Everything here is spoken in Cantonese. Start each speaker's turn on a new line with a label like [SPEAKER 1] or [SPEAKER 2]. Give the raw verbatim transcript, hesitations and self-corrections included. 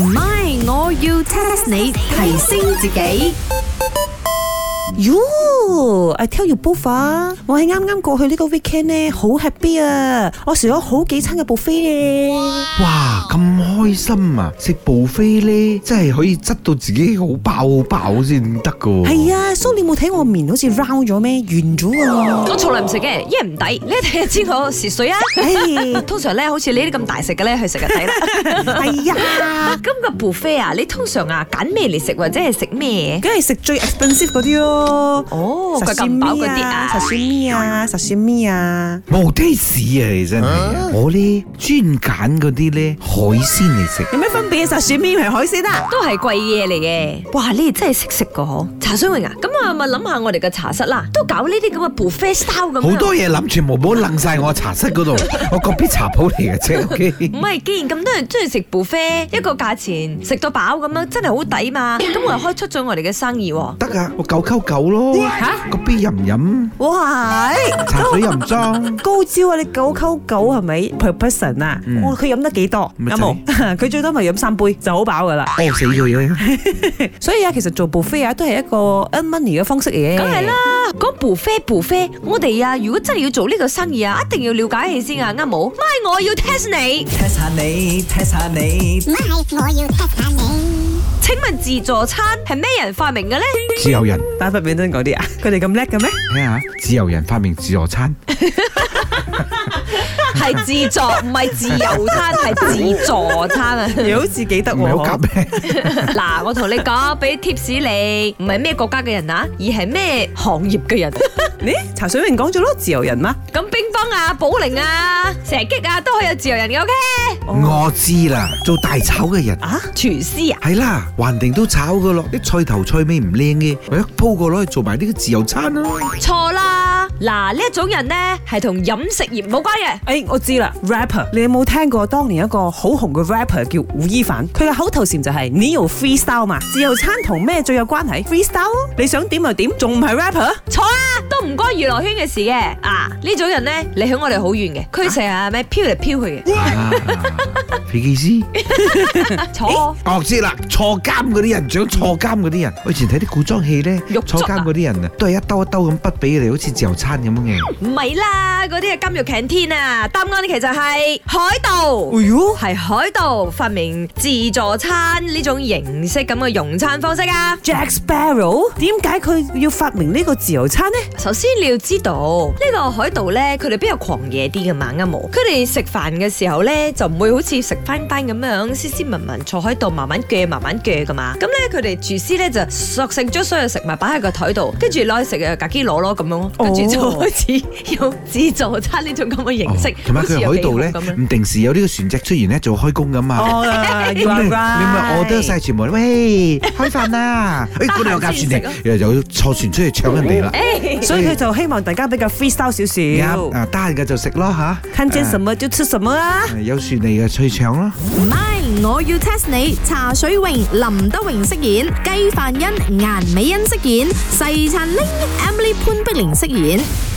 [SPEAKER 1] 唔係，我要 test 你提升自己。
[SPEAKER 2] 喲 I tell you both 啊，我係啱啱過去呢個 weekend 咧，好 happy 啊！我食咗好幾餐嘅 buffet 咧。
[SPEAKER 3] 哇，咁開心啊！食 buffet 咧，真係可以執到自己好飽好飽先得噶。
[SPEAKER 2] 係啊，蘇你冇睇我面好似 round 咗咩？圓咗啊！
[SPEAKER 4] 我從來唔食嘅，因為唔抵。你一睇就知我蝕水啊！通常咧，好似你啲咁大食嘅咧，去食就抵啦。
[SPEAKER 2] 係啊，
[SPEAKER 4] 咁個 buffet 啊，你通常啊揀咩嚟食，或者係食咩？
[SPEAKER 2] 梗係食最 expensive 嗰啲咯。
[SPEAKER 4] 哦，佢咁飽嗰啲啊，
[SPEAKER 2] 壽司咪啊，壽司咪啊，
[SPEAKER 3] 冇 taste 啊！你真係，我咧專揀嗰啲咧海鮮嚟食。
[SPEAKER 2] 有咩分別啊？壽司咪係海鮮啊？
[SPEAKER 4] 都係貴嘢嚟嘅。哇，你哋真係識食噶嗬！茶水榮啊，咁我咪諗下我哋嘅茶室啦，都搞呢啲咁嘅 buffet style 咁。
[SPEAKER 3] 好多嘢諗，全部冇掕晒我茶室嗰度，我個別茶鋪嚟嘅啫。OK。
[SPEAKER 4] 唔係，既然咁多人中意食 buffet，一個價錢食到飽咁樣，真係好抵嘛！咁我又開出咗我哋嘅生意喎。
[SPEAKER 3] 得啊，我九溝九咯。
[SPEAKER 4] 嚇？
[SPEAKER 3] 個杯飲唔飲？
[SPEAKER 2] 哇！
[SPEAKER 3] 茶水又唔裝。
[SPEAKER 2] 高招啊！你九溝九係咪 per person 啊？我佢飲得幾多？有冇？佢最多咪飲三杯就好飽噶啦。
[SPEAKER 3] 餓死佢嘅。
[SPEAKER 2] 所以啊，其實做 buffet 啊，都係一個 earn money 嘅方式嚟嘅。
[SPEAKER 4] 梗係啦，講 buffet buffet，我哋啊，如果真係要做呢個生意啊，一定要了解起先啊，啱冇？咪我要 test 你
[SPEAKER 5] ，test 下你，test 下你，
[SPEAKER 6] 咪我要 test 下你。
[SPEAKER 4] 請問自助餐係咩人發明嘅咧？
[SPEAKER 3] 自由人。
[SPEAKER 2] 巴不比登嗰啲啊，佢哋咁叻嘅咩？
[SPEAKER 3] 睇下，自由人發明自助餐。
[SPEAKER 4] 係自助，唔係自由餐，係自助餐啊！
[SPEAKER 2] 又好似幾得喎，
[SPEAKER 3] 唔係好夾咩？
[SPEAKER 4] 嗱，我同你講，俾 tips 你，唔係咩國家嘅人啊，而係咩行業嘅人。
[SPEAKER 2] 你茶水榮講咗咯，自由人嘛？
[SPEAKER 4] 咁乒乓啊、保齡啊、射擊啊，都可以有自由人嘅 ，OK？
[SPEAKER 3] 我知啦，做大炒嘅人
[SPEAKER 2] 啊，
[SPEAKER 4] 廚師啊，
[SPEAKER 3] 係啦，橫掂都炒噶咯，啲菜頭菜尾唔靚嘅，我一鋪過攞去做埋呢個自由餐咯。
[SPEAKER 4] 錯啦，嗱呢一種人咧係同飲食業冇關嘅。
[SPEAKER 2] 誒，我知啦 ，rapper， 你有冇聽過當年一個好紅嘅 rapper 叫吳亦凡？佢嘅口頭禪就係你要 freestyle 嘛。自由餐同咩最有關係 ？freestyle， 你想點就點，仲唔係 rapper？
[SPEAKER 4] 錯啊，都唔關娛樂圈嘅事嘅。啊，呢種人咧離響我哋好遠嘅，佢成日咩飄嚟飄去嘅。
[SPEAKER 3] 啊，飛機師。
[SPEAKER 4] 錯。
[SPEAKER 3] 我知啦，坐監嗰啲人，想坐監嗰啲人，我以前睇啲古裝戲咧，坐監嗰啲人啊，都係一兜一兜咁筆俾佢哋，好似自由餐咁樣嘅。
[SPEAKER 4] 唔係啦，嗰啲係監獄 canteen啊。答案其實係海盜。
[SPEAKER 2] 哎喲，
[SPEAKER 4] 係海盜發明自助餐呢種形式咁嘅用餐方式啊。
[SPEAKER 2] Jack Sparrow， 點解佢要發明呢個自由餐呢？
[SPEAKER 4] 首先你要知道呢個海盜咧，佢哋比較狂野啲嘅嘛，啱冇？佢哋食飯嘅時候咧，就唔會好似食翻單咁樣斯斯文文坐喺度慢慢鋸慢慢鋸噶嘛。咁咧佢哋廚師咧就索性將所有食物擺喺個台度，跟住攞去食啊，格基攞咯咁樣咯，跟住就開始用自助餐呢種咁嘅形式。
[SPEAKER 3] 同埋佢海盜咧，唔定時有呢個船隻出現咧，做開工噶嘛。
[SPEAKER 2] 哦，
[SPEAKER 3] 你咪我得晒全部，喂，開飯啦！誒，嗰度有架船嚟，又有坐船出去搶人哋啦。
[SPEAKER 2] 所以佢就希望大家比較 freestyle 少少。
[SPEAKER 3] 啊，得閒嘅就食咯吓。
[SPEAKER 2] 看見什麼就吃什麼啊！
[SPEAKER 3] 有船嚟嘅去搶咯。
[SPEAKER 1] 唔係，我要 test 你。茶水榮、林德榮飾演，雞飯欣、顏美欣飾演，細陳玲、Emily 潘碧玲飾演。